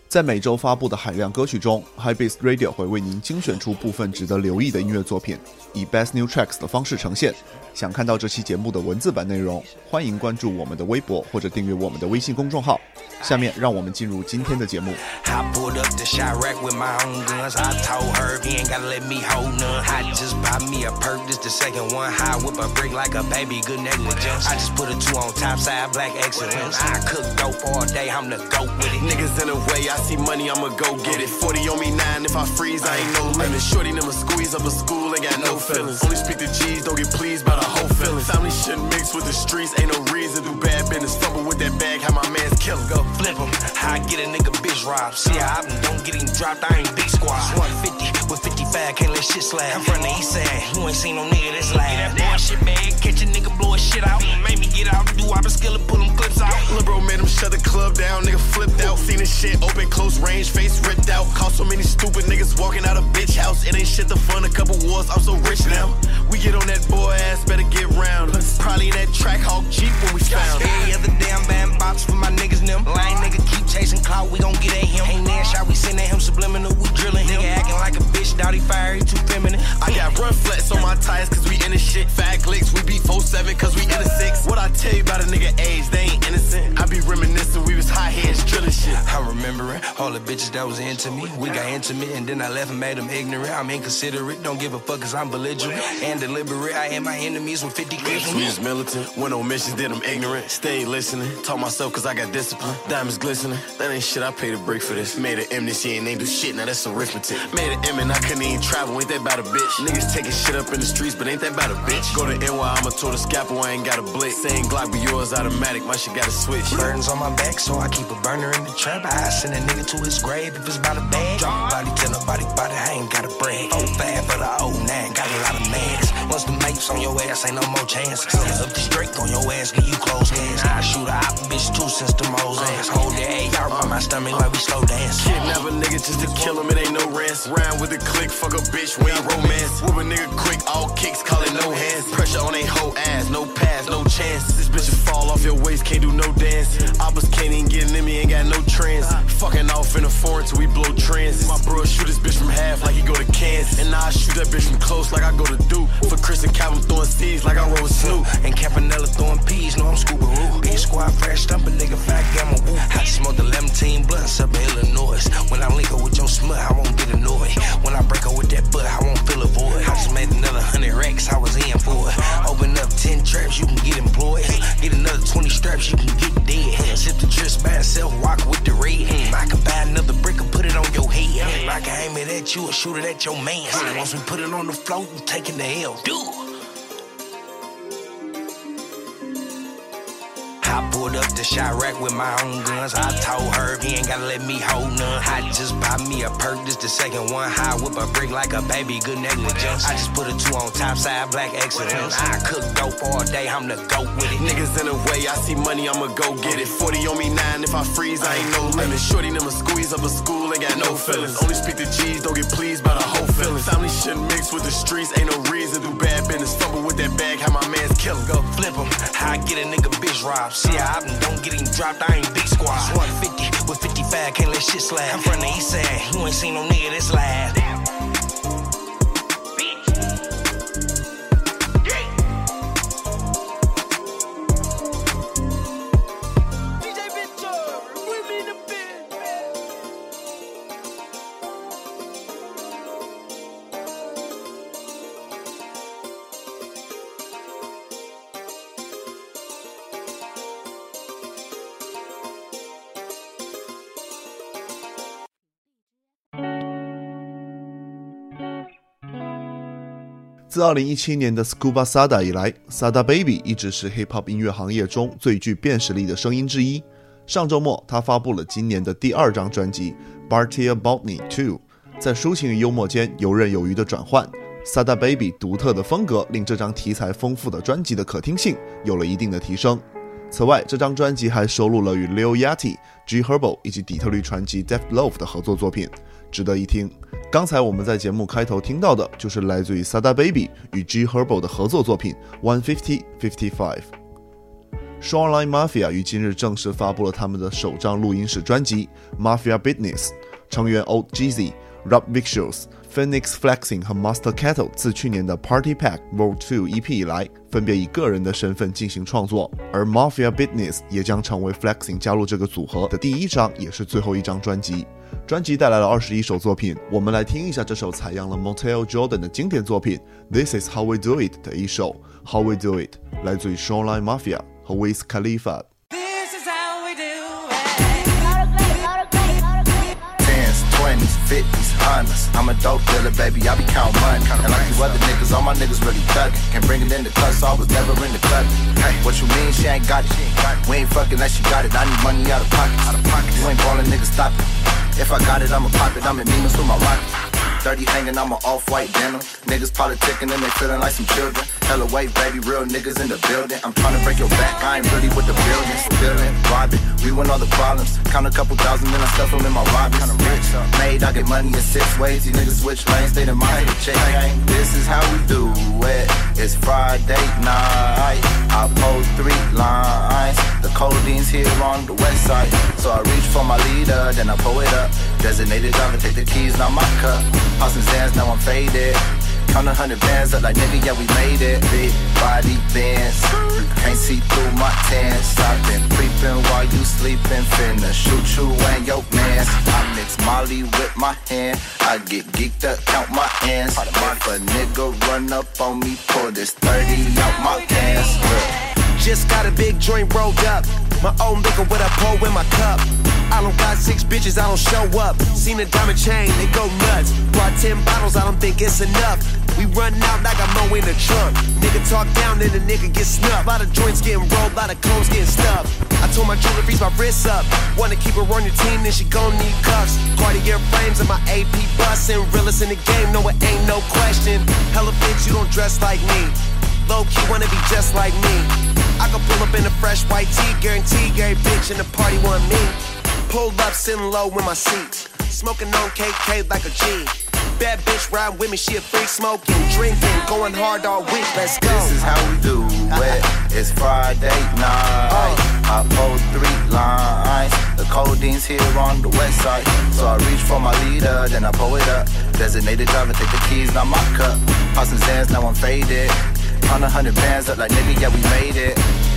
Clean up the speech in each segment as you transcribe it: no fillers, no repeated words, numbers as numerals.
在每周发布的海量歌曲中 Hypebeast Radio 会为您精选出部分值得留意的音乐作品，以 Best New Tracks 的方式呈现。想看到这期节目的文字版内容，欢迎关注我们的微博或者订阅我们的微信公众号。下面让我们进入今天的节目。 Niggas in the way, I see money, I'ma go get it. 40 on me 9, if I freeze, I ain't no limit. Shorty never squeeze up a school, ain't got no feelings. Only speak to G's, don't get pleased by the whole feeling. Family shouldn't mix with the streets, ain't no reason. Do bad business, fumble with that bag, how my man's killin'. Go flip him, how I get a nigga bitch robbed. See how I don't get him dropped, I ain't big squad. 150 with 55, can't let shit slide. I'm from the east side, you ain't seen no nigga that's like that boy shit bag, catch a nigga blow his shit out. Make me get out, do all the skill and pull them clips out. Lil' bro made him shut the club down, nigga flipped out. Seen this shit open, close range, face ripped out. Caught so many stupid niggas walking out of bitch house. It ain't shit to fund a couple wars, I'm so rich now. We get on that boy ass, better get round. Probably in that track hawk Jeep when we found. Every other damn band box for my niggas them. Lame nigga keep chasing clout, we gon' get at him. Ain't that shot, we send at him subliminal, we drilling him. Nigga acting like a bitch, doubt he fire, he too feminine. I got run flats on my tires cause we in the shit. Fat clicks, we beat 4-7 cause we in the 6. What I tell you about a nigga age, they ain't innocent. I be reminiscing, we was high heads drilling shit. I'm remembering all the bitches that was into me. We got intimate and then I left and made them ignorant. I'm inconsiderate, don't give a fuck cause I'm belligerent and deliberate. I hit my enemies with 50 clips. We was militant, went on missions, did them ignorant. Stayed listening, taught myself cause I got discipline. Diamonds glistening, that ain't shit, I paid a break for this. Made an M this year and ain't do shit, now that's arithmetic. Made an M and I couldn't even travel, ain't that about a bitch. Niggas taking shit up in the streets, but ain't that about a bitch. Go to NY, I'ma tour the scalpel, I ain't got a blick. Saying Glock, but yours automatic, my shit got a switch. Burdens on my back, so I keep a burner in the trap. I send a nigga to his grave if it's about a bag. Drop body, tell nobody about it, I ain't got a brag. 05 for the 09, got a lot of mags. Once the mates on your ass, ain't no more chances. Up this Drake on your ass, give you close hands. I shoot a op bitch too since the Mo's ass. Hold that AR on my stomach like we slow dance. Kidnap a nigga just to kill him, it ain't no rants. Round with the click, fuck a bitch, we ain't romance. Whoop a nigga quick, all kicks, call it no hands. Pressure on they whole ass, no pass, no chance. This bitch will fall off your waist, can't do no dance. Oppas can't even get in me, ain't got no trends. Fucking off in the foreign till we blow trends. My bro shoot this bitch from half like he go to Kansas. And now I shoot that bitch from close like I go to Duke. For Chris and Calvin throwing seeds like I roll with Snoop. And Campanella throwing peas, no I'm Scooby-Roo. Each squad fresh, stump a nigga, fat gamma woo. I smoke the 11 blunts up in Illinois. When I link up with your smut, I won't get annoyed. When I break up with that butt, I won't feel a void. I just made another 100 racks, I was in for it. Open up 10 traps, you can get employed. Get another 20 straps, you can get dead. Sip the dress by itself, walk with the red. I can buy another brick and put it on your head. I can aim it at you or shoot it at your man. Once we put it on the float, you taking the L. Dude. I pulled up the shot rack with my own guns. I told Herb he ain't gotta let me hold none. I just buy me a perk, this the second one. I whip a brick like a baby, good negligence. I just put a 2 on top side, black excellence. I cook dope all day, I'm the goat with it. Niggas in the way, I see money, I'ma go get it. 40 on me 9, if I freeze, I ain't no limit. Shorty never squeeze up a school, ain't got no feelings. Only speak to G's, don't get pleased by the whole feeling. Family shouldn't mix with the streets, ain't no reason. Do bad business, fumble with that bag, how my man's killin'. Go flip him, how I get a nigga bitch robbed. See how I don't get him dropped, I ain't big squad. 150 with 55, can't let shit slide. I'm from the east side, you ain't seen no nigga that's live. 自2017年的 Scuba Sada 以来， Sada Baby 一直是 Hip Hop 音乐行业中最具辨识力的声音之一。上周末，他发布了今年的第2张专辑 Bartia Botany 2， 在抒情与幽默间游刃有余的转换。Sada Baby 独特的风格令这张题材丰富的专辑的可听性有了一定的提升。此外，这张专辑还收录了与 Lil Yachty、G Herbo 以及底特律传奇 Def Loaf 的合作作品，值得一听。刚才我们在节目开头听到的就是来自于 Sada Baby 与 G Herbo 的合作作品 150-55。 Shoreline Mafia 于今日正式发布了他们的首张录音室专辑 Mafia Business， 成员 Old Jeezy、Rob Vicious、Phoenix Flexing 和 Master Kettle 自去年的 Party Pack Vol. 2 EP 以来，分别以个人的身份进行创作，而 Mafia Business 也将成为 Flexing 加入这个组合的第一张也是最后一张专辑。专辑带来了21首作品，我们来听一下这首采样了 Montell Jordan 的经典作品 This Is How We Do It 的一首 How We Do It， 来自于 Shoreline Mafia 和 Wiz Khalifa。This is how we do it.10s, 20s, 50s, 100s. I'm a dope dealer, baby. I be counting money. And like you other niggas, all my niggas really thuggin'. Can't bring it in the cut, so I was never in the cut. Hey, what you mean? She ain't got it. We ain't fucking unless she got it. I need money out of pocket. You ain't ballin', niggas, stop it. If I got it, I'ma pop it. I'm in Nemus with my rocket. 30 hanging, I'm an off-white denim. Niggas politicking and they feeling like some children. Hella weight, baby, real niggas in the building. I'm trying to break your back, I ain't really with the building. Stealing, robbing, we win all the problems. Count a couple thousand, then I stuff them in my robbers. Made, I get money in 6 ways. These niggas switch lanes, they done mind the check. This is how we do it. It's Friday night. I post 3 lines. The codeine's here on the west side. So I reach for my leader, then I pull it up. Designated driver, take the keys, not my cup. Passing Zans, now I'm faded. Count 100 bands up like nigga, yeah we made it. Big body bands, can't see through my tans. I've been creeping while you sleeping. Finna shoot you and your mans. I mix Molly with my hand. I get geeked up, count my ends. If a nigga run up on me, pull this 30 out my pants. Just got a big joint rolled up. My own liquor with a pole in my cup. I don't got 6 bitches, I don't show up. Seen a diamond chain, they go nuts. Brought 10 bottles, I don't think it's enough. We run out, I got more in the trunk. Nigga talk down, then the nigga get snuffed. Lot of joints getting rolled, lot of cones getting stuffed. I told my jewelry freeze my wrists up. Wanna keep her on your team, then she gon' need cuffs. Cartier frames and my AP bustin'. Realest in the game, no it ain't no question. Hella bitch, you don't dress like me. Low key wanna be just like me. I could pull up in a fresh white tee, guarantee every bitch in the party want me. Pulled up, sitting low in my seat, smoking on KK like a G. Bad bitch riding with me, she a freak, smoking, drinking, going hard all week. Let's go. This is how we do it. It's Friday night. I post 3 lines. The codeine's here on the west side. So I reach for my leader, then I pull it up. Designated driver, take the keys, not my cup. Passing Zans, now I'm faded. On 100 bands up like nigga, yeah we made it.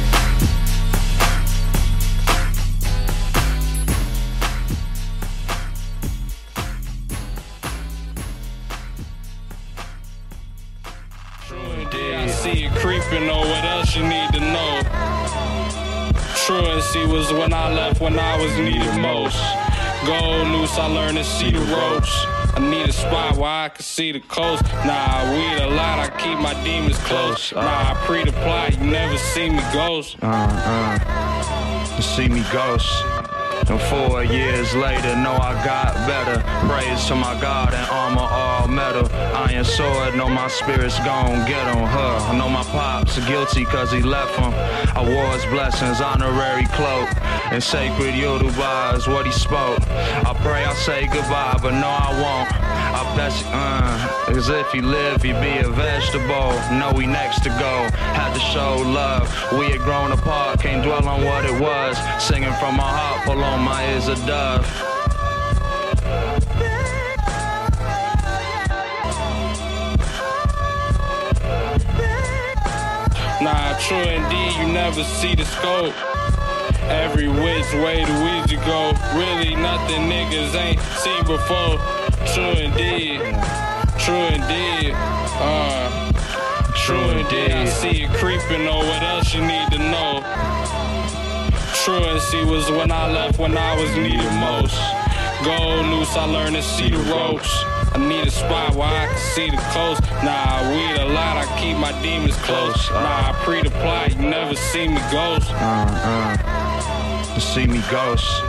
I see it creeping, or what else you need to know. Truancy was when I left, when I was needed most. Go loose, I learned to see the ropes. I need a spot where I can see the coast. Nah, I weed a lot, I keep my demons close. Nah, I pre the plot, you never see me ghost. You see me ghost. And 4 years later, know I got better. Praise to my God and armor all metal. Iron sword, know my spirit's gon' get on her. I know my pops guilty cause he left him. I wore his blessings, honorary cloak. And sacred Yoruba is what he spoke. I pray I say goodbye, but no I won't. I bet you, as if he lived, he'd be a vegetable. Know we next to go, had to show love. We had grown apart, can't dwell on what it was. Singing from my heart, pull on my ears a dove. Nah, true indeed, you never see the scope. Every which way the Ouija go. Really nothing niggas ain't seen before. True indeed. True indeed. True indeed. I see it creeping, or what else you need to know. Truancy was when I left, when I was needed most. Go loose, I learned to see the ropes. I need a spot where I can see the coast. Nah, I weed a lot, I keep my demons close. Nah, I pre the plot, you never see me ghost. You see me ghost.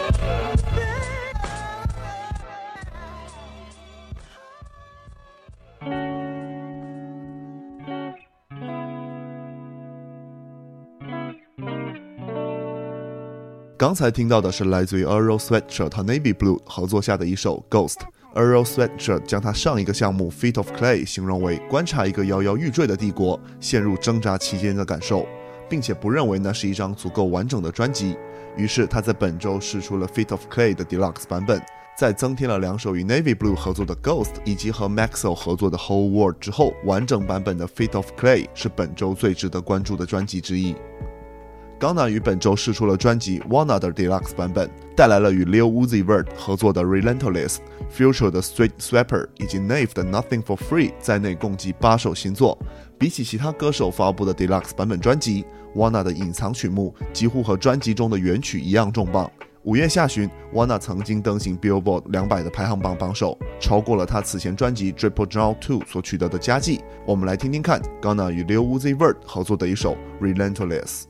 刚才听到的是来自于 Earl Sweatshirt 和 Navy Blue 合作下的一首 Ghost。Earl Sweatshirt 将他上一个项目 Feet of Clay 形容为观察一个摇摇欲坠的帝国陷入挣扎期间的感受。 并且不认为那是一张足够完整的专辑，于是他在本周释出了 Feet of Clay 的 Deluxe 版本。在增添了2首与 Navy Blue 合作的 Ghost 以及和 Maxwell 合作的 Whole World 之后，完整版本的 Feet of Clay 是本周最值得关注的专辑之一。Gunna 于本周释出了专辑 Wanna 的 Deluxe 版本，带来了与 Lil Uzi Vert 合作的 Relentless、Future 的 Street Swapper 以及 Nave 的 Nothing for Free 在内共计8首新作。比起其他歌手发布的 Deluxe 版本专辑， Wanna 的隐藏曲目几乎和专辑中的原曲一样重磅。5月下旬 Wanna 曾经登上 Billboard 200的排行榜榜首，超过了他此前专辑 Triple Draw 2 所取得的佳绩。我们来听听看 Gunna 与 Lil Uzi Vert 合作的一首 Relentless。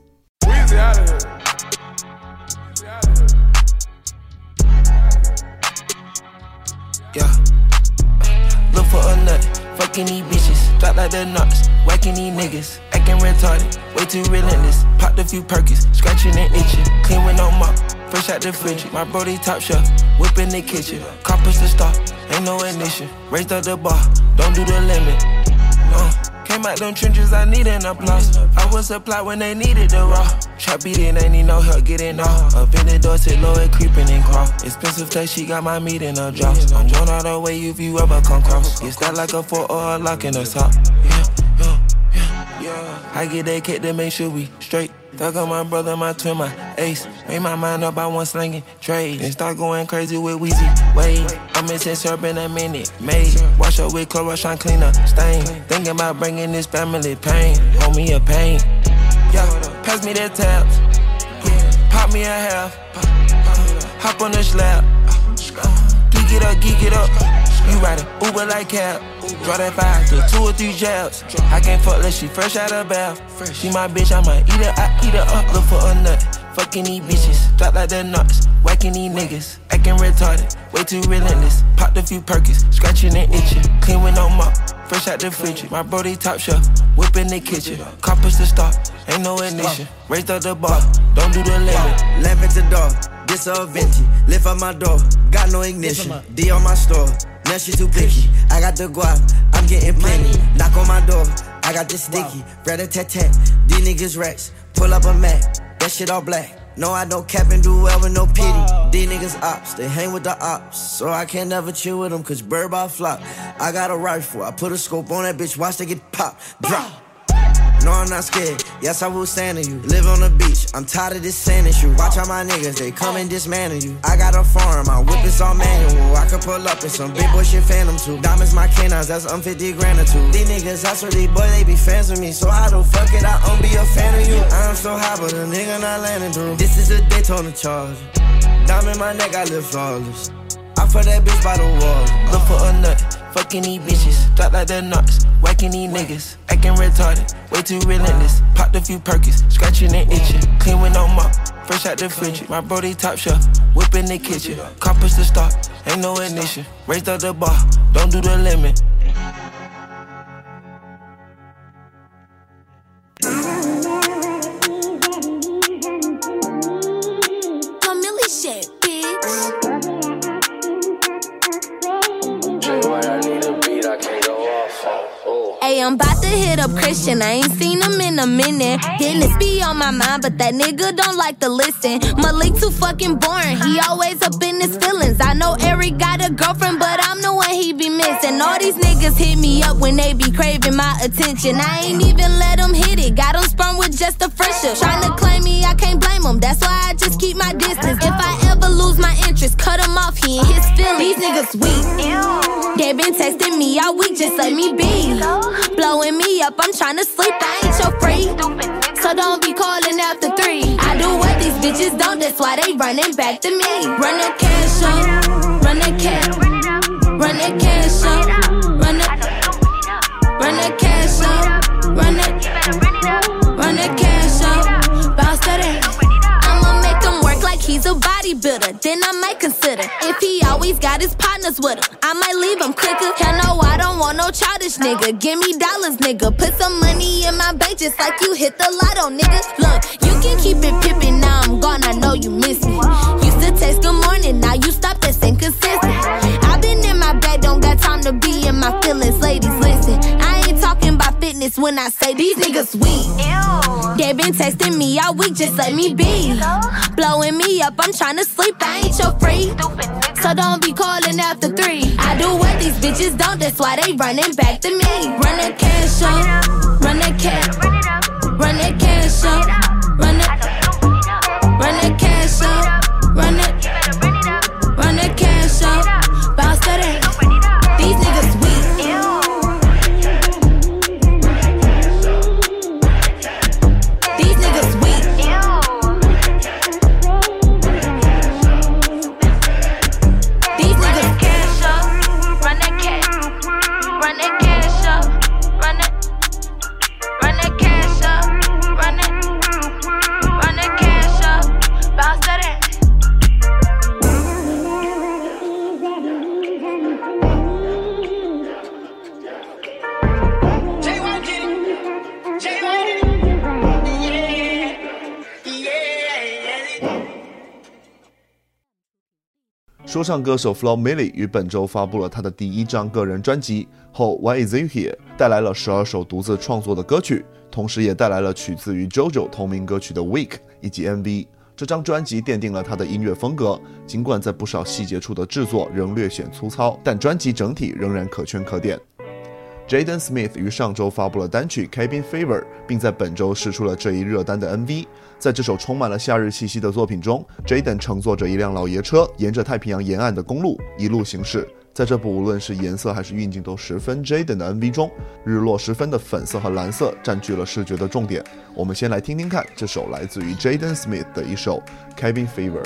Yeah. Look for a nut, fucking these bitches, drop like the nuts, whacking these niggas, acting retarded, way too relentless. Popped a few Perkins, scratching and itching, clean with no mop, fresh out the fridge. My brody top shelf, whip in the kitchen, compass the stop, ain't no ignition. Raised up the bar, don't do the limit. Came out them trenches, I need an applause. I was supplied when they needed the raw. Trap beating, ain't need no help getting off. Up in the door, sit low and creeping and crawl. Expensive taste, she got my meat in her jaws. I'm drawn all the way if you ever come cross. Get that like a 4 or a lock in the top. Yeah. I get that cake to make sure we straight. Thug on my brother, my twin, my ace. Made my mind up, I want slinging trade. And start going crazy with Weezy Wade. I'm missing syrup in a minute, made. Wash up with Clorox, trying clean up stain. Thinking about bringing this family pain. Hold me a pain. Yeah, pass me that tabs. Pop me a half. Hop on the slab. Geek it up. You riding Uber like cab. Draw that 5 to 2 or 3 jabs. I can't fuck unless she fresh out of bath. She my bitch, I might eat her, I eat her up. Look for a nut, fucking these bitches, drop like the nuts, whacking these niggas, acting retarded, way too relentless. Popped a few Perkins, scratching and itching, clean with no mop, fresh out the fridge. My brody top shelf, whip in the kitchen, compass the stop, ain't no ignition. Raised up the bar, don't do the limit. Lamp at the door, this all vintage. Lift up my door, got no ignition. D on my store, now she too picky. I got the guap, I'm getting plenty. Knock on my door, I got this sticky. Rat-a-tat-tat, these niggas racks. Pull up a Mac, that shit all black. No, I don't cap and do well with no pity. These niggas ops, they hang with the ops. So I can't never chill with them, cause bird by flop. I got a rifle, I put a scope on that bitch, watch they get pop. Drop. No, I'm not scared, yes I will stand on you. Live on the beach, I'm tired of this sand issue. Watch out my niggas, they come and dismantle you. I got a farm, my whip is all manual. I can pull up in some big boy shit phantom too. Diamonds my canines, that's 50 grand or two. These niggas, I swear these boy, they be fans of me. So how the fuck it, I don't be a fan of you. I'm so high, but a nigga not landing through. This is a Daytona Charger. Diamond my neck, I live flawless. I put that bitch by the wall. Look for a nut, fucking these bitches, drop like the nuts, whacking these niggas, acting retarded, way too relentless. Popped a few Perkins, scratching and itching, clean with no mop, fresh out the fridge. My brody top shelf, whip in the kitchen, compass the stop, ain't no ignition. Raised up the bar, don't do the limit. I'm about to hit up Christian, I ain't seen him in a minute. Dennis be on my mind, but that nigga don't like to listen. Malik too fucking boring, he always up in his feelings. I know Eric got a girlfriend, but I'm the one he be missing. All these niggas hit me up when they be craving my attention. I ain't even let them hit it, got them sprung with just a friendship. Tryna claim me, I can't blame them, that's why I just keep my distance. If I ever lose my interest, cut him off, he in his feelings. These niggas weak, they been texting me all week, just let me be. Blowing me up, I'm tryna sleep, I ain't your freak. So don't be calling after 3. I do what these bitches don't, that's why they running back to me. Run the cash up, run the cash, run the cash up, run the cash up, run the cash up, bounce that. I'ma make him work like he's a bodybuilder, then I might consider. If he always got his partners with him, I might leave him quicker. Hell no, I don't want no childish nigga. Give me dollars, nigga. Put some money in my bank just like you hit the lotto, nigga. Look, you can keep it pimpin', now I'm gone, I know you miss me. Used to text good morning, now you stop, that's inconsistent. I been in my bag, don't got time to be in my feelings, ladies, listen. I ain't talking about fitness when I say these niggas weak. They been texting me all week, just let me be. Blowing me up, I'm tryna sleep, I ain't your freak. So don't be calling after 3. I do what these bitches don't, that's why they running back to me. Run that cash up, run that cash, run that cash up, run that cash up, run that cash up, bounce that ass. These niggas weak. These niggas weak. These niggas cash up, run that cash up, run that cash up, run that cash up, bounce that ass. 说唱歌手 Flo Milli 于本周发布了他的第1张个人专辑后 Why Is You Here， 带来了12首独自创作的歌曲，同时也带来了取自于 JoJo 同名歌曲的 Weak 以及 MV。这张专辑奠定了他的音乐风格，尽管在不少细节处的制作仍略显粗糙，但专辑整体仍然可圈可点。Jaden Smith 于上周发布了单曲 Cabin Fever， 并在本周释出了这一热单的 MV。在这首充满了夏日气息的作品中， Jaden 乘坐着一辆老爷车，沿着太平洋沿岸的公路一路行驶。在这部无论是颜色还是运镜都十分 Jaden 的 MV 中，日落时分的粉色和蓝色占据了视觉的重点。我们先来听听看这首来自于 Jaden Smith 的一首 Cabin Fever。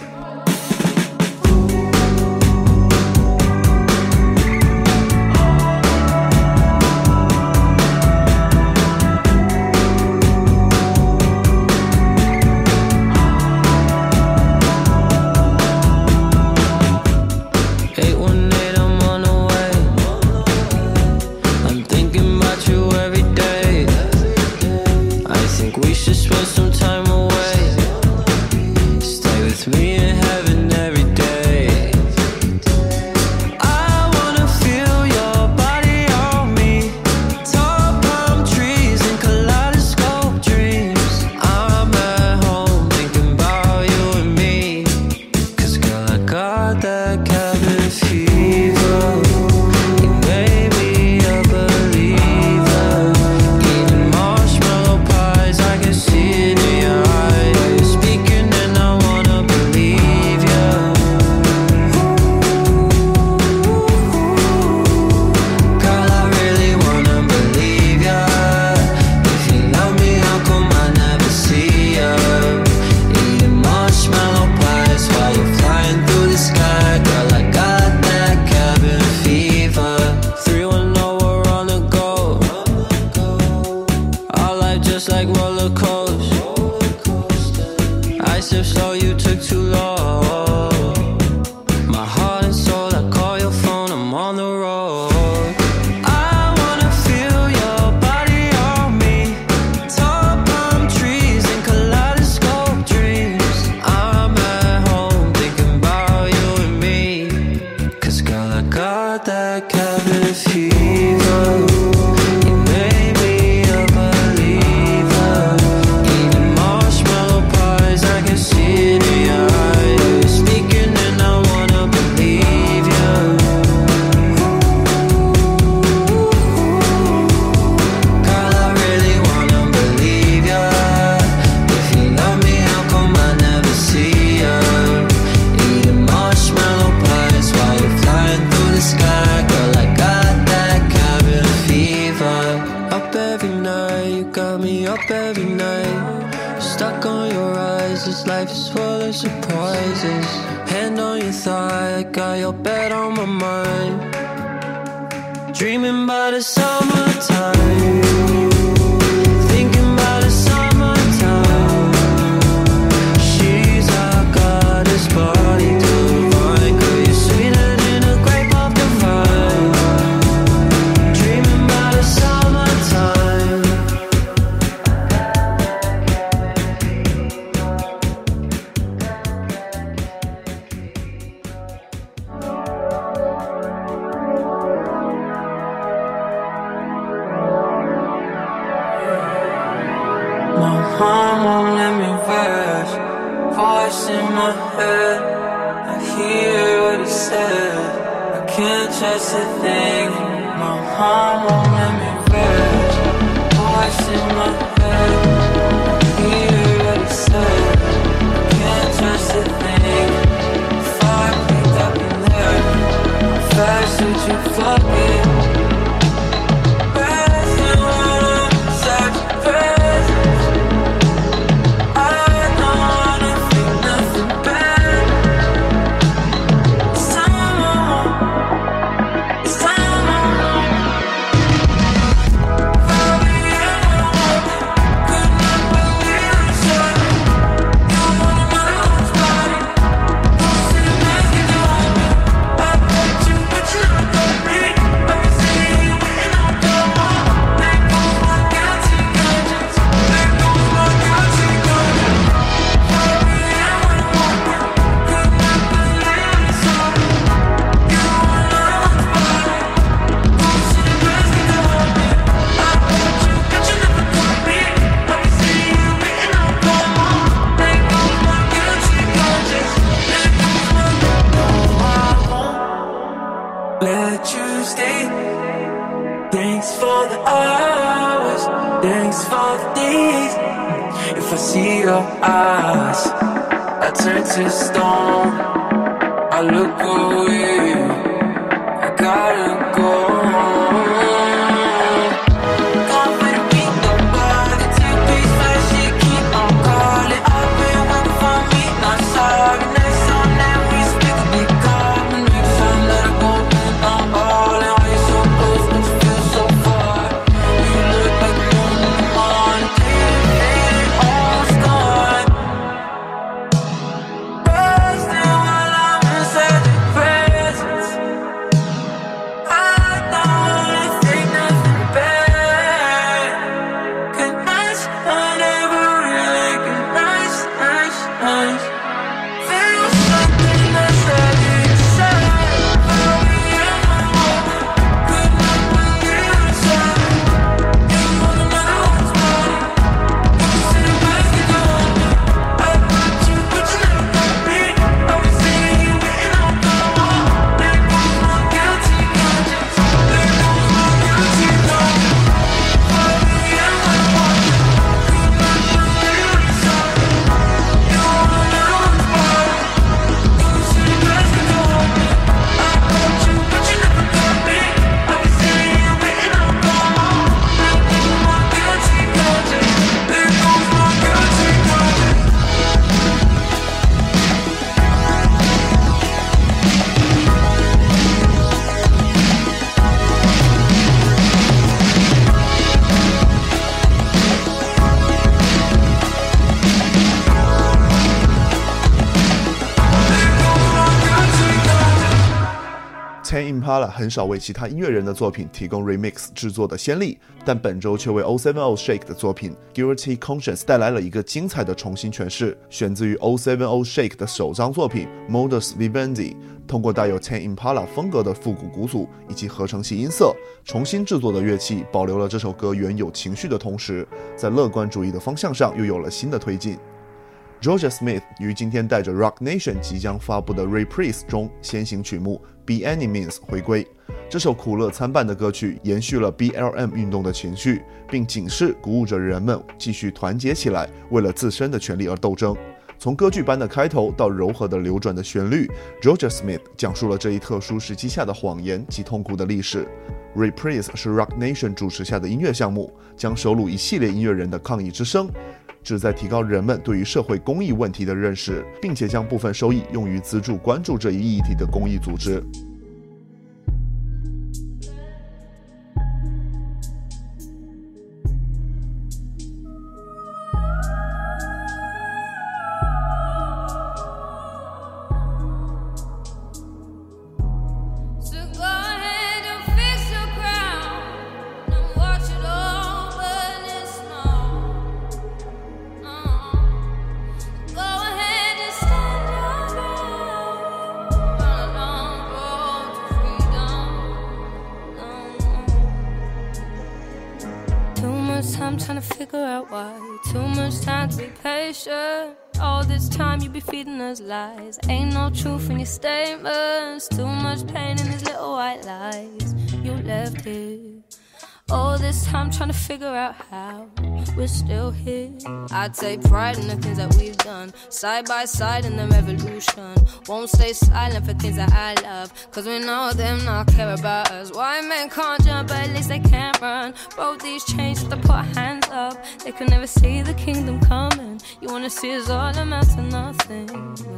Dreaming about the summertime, thinking about the summertime. She's a goddess, body divine. Girl, you're sweeter than a grape off the vine. Dreaming about the summertime. voice in my head, I hear what it says. I can't trust a thing. My heart won't let me rest. Voice in my head, I hear what it says. I can't trust a thing. If I picked up in there, how fast would you fuck it? Resting when I'm inside your presence. I don't wanna think nothing bad. It's time I want. It's time I want. Probably everyone could not believe it's right. You want another one's body. Don't sit back and do me. I bet you, but you never got me. Every city you win, I'll go on. There goes my guilty conscience. There goes my guilty conscience. Probably everyone could not believe it's right. You want another one's body. Don't sit back and do me. I bet you, but you never got me. Every city you win, I'll go on. There goes my guilty conscience. There goes my no, I won't let you stay. Thanks for the hours, thanks for the days. If I see your eyes, I turn to stone. I look away, I gotta go. Gone for the beat, nobody take peace, fast shit, keep on calling. I've been waiting for me, not sorry. Next time that we speak, we call me. Next time that I go in, I'm all in. Why you so close, but you feel so far? You look like the moon in the morning, faded, almost gone. Resting while I'm inside your presence. I don't wanna think nothing bad. Good nights, I never really good nights, nights, nights. Feel something that's heavy inside. Probably everyone could not believe it's right. You want another one's body. Don't sit back and do me. I got you, but you never got me. Every city you win, I'll go on. There goes my guilty conscience. There goes my guilty conscience. Probably everyone could not believe it's right. You want another one's body. Don't sit back and do me. I got you, but you never got me. Every city you win, I'll go on. There goes my guilty conscience. There goes my guilty conscience. Tame Impala 很少为其他音乐人的作品提供 remix 制作的先例，但本周却为 070 Shake 的作品 Guilty Conscience 带来了一个精彩的重新诠释，选自于070 Shake 的首张作品 Modus Vivendi， 通过带有 Tame Impala 风格的复古鼓组以及合成器音色，重新制作的乐器保留了这首歌原有情绪的同时，在乐观主义的方向上又有了新的推进。Georgia Smith 于今天带着 Rock Nation 即将发布的 Reprise 中先行曲目 Be Any Means 回归。这首苦乐参半的歌曲延续了 BLM 运动的情绪，并警示鼓舞着人们继续团结起来，为了自身的权利而斗争。从歌剧般的开头到柔和的流转的旋律， Georgia Smith 讲述了这一特殊时期下的谎言及痛苦的历史。Reprise 是 Rock Nation 主持下的音乐项目，将收录一系列音乐人的抗议之声，旨在提高人们对于社会公益问题的认识，并且将部分收益用于资助关注这一议题的公益组织。 Too much time trying to figure out why. Too much time to be patient. All this time you be feeding us lies. Ain't no truth in your statements. Too much pain in these little white lies you left here. All this time trying to figure out how we're still here. I take pride in the things that we've done, side by side in the revolution. Won't stay silent for things that I love, cause we know them not care about us. Why men can't jump, but at least they can't run. Both these chains have to put hands up. They could never see the kingdom coming. You wanna see us all amount to nothing.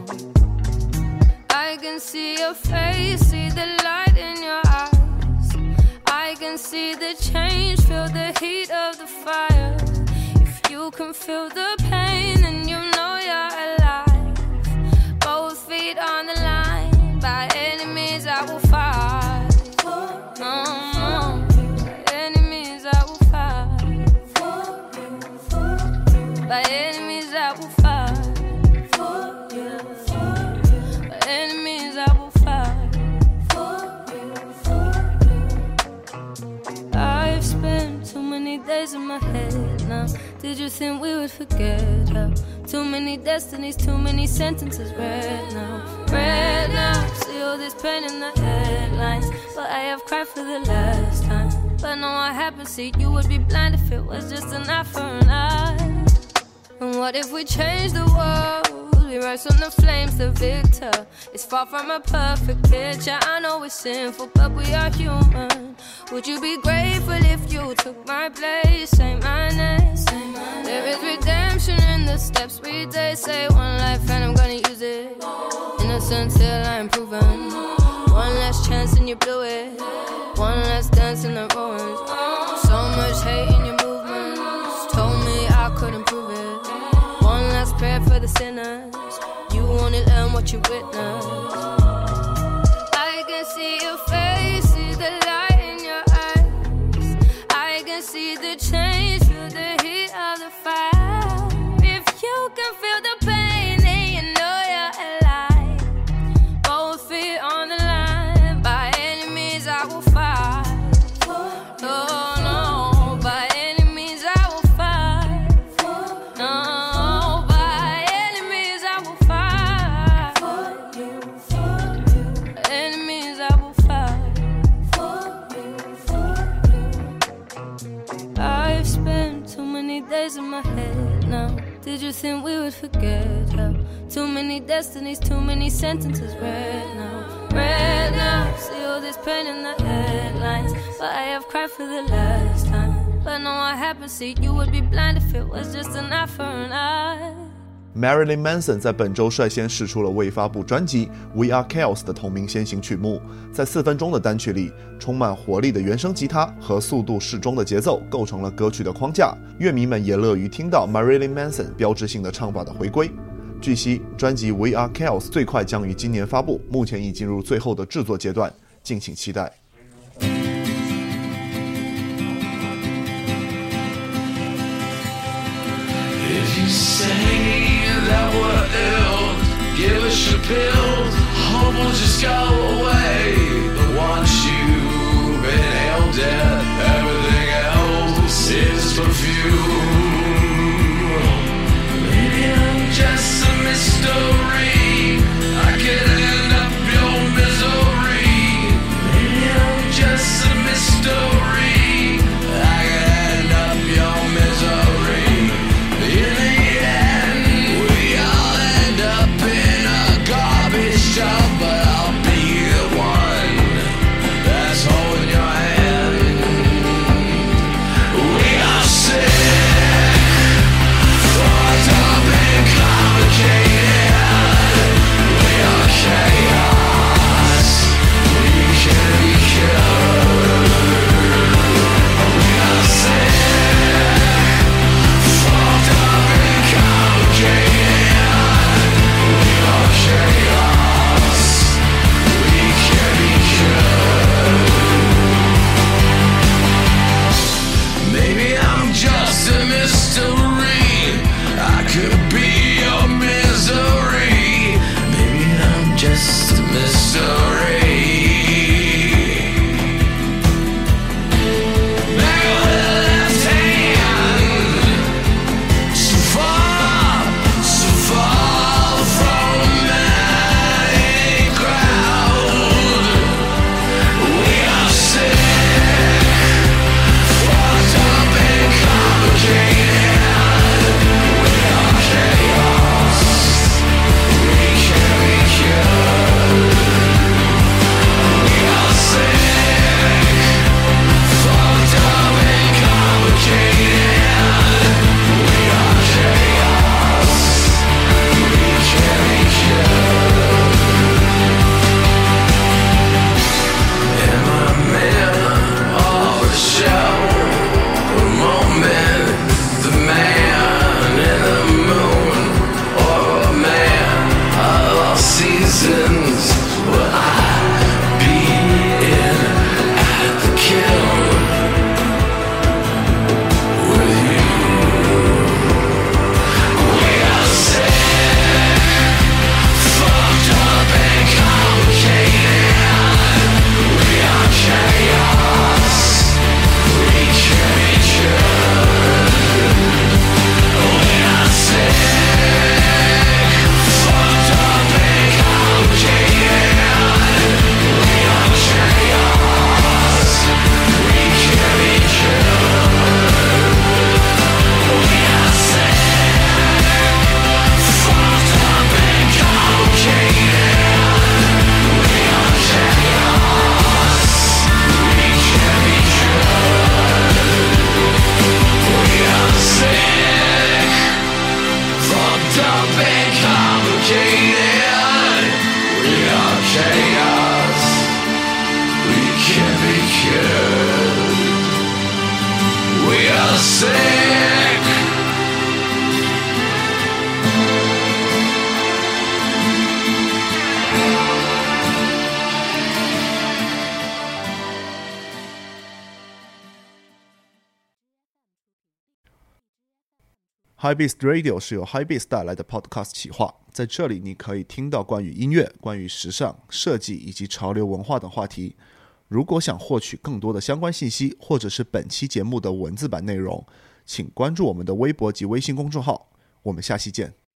I can see your face, see the light in your eyes. I can see the change, feel the heat of the fire. If you can feel the pain, then you know you're alive. Both feet on the line, by any means I will fight. By any means I will fight. By any means I will fight. By any means I will fight. I've spent too many days in my head now. Did you think we would forget how? Too many destinies, too many sentences read now. Read now, see all this pain in the headlines. But I have cried for the last time. But no, I haven't seen you would be blind if it was just an eye for an eye. And what if we change the world? We rise from the flames, the victor. It's far from a perfect picture. I know we're sinful, but we are human. Would you be grateful if you took my place? Say my name. There is redemption in the steps we take. Say one life and I'm gonna use it. Innocent till I'm proven. One last chance and you blew it. One last dance in the ruins. So much hate in your movements. Told me I couldn't prove it. One last prayer for the sinners. You only learn what you witness. I can see your face, see the light in your eyes. I can see the change, feel the heat of the fire. If you can feel the pain, then you know you're alive. Both feet on the line, by any means I will fight. Oh no, by any means I will fight. No, by any means I will fight. By any means I will fight. I've spent too many days in my head now. Did you think we would forget how? Too many destinies, too many sentences read now. Read now, see all this pain in the headlines. But I have cried for the last time. But no, I haven't seen you would be blind if it was just an eye for an eye. Marilyn Manson 在本周率先释出了未发布专辑《We Are Chaos》的同名先行曲目，在4分钟的单曲里，充满活力的原声吉他和速度适中的节奏构成了歌曲的框架，乐迷们也乐于听到 Marilyn Manson 标志性的唱法的回归。据悉，专辑《We Are Chaos》最快将于今年发布，目前已进入最后的制作阶段，敬请期待。 That we're ill, give us your pills, hope will just go away. But once you've inhaled it, everything else is perfume. Maybe I'm just a mystery, I can end up your misery. Maybe I'm just a mystery, I can end up your misery. In the end, we all end up in a garbage tub, but I'll be the one that's holding your hand. We are sick. Hypebeast Radio 是由 Hypebeast 带来的 Podcast 企划，在这里你可以听到关于音乐、关于时尚、设计以及潮流文化等话题。如果想获取更多的相关信息，或者是本期节目的文字版内容，请关注我们的微博及微信公众号。我们下期见。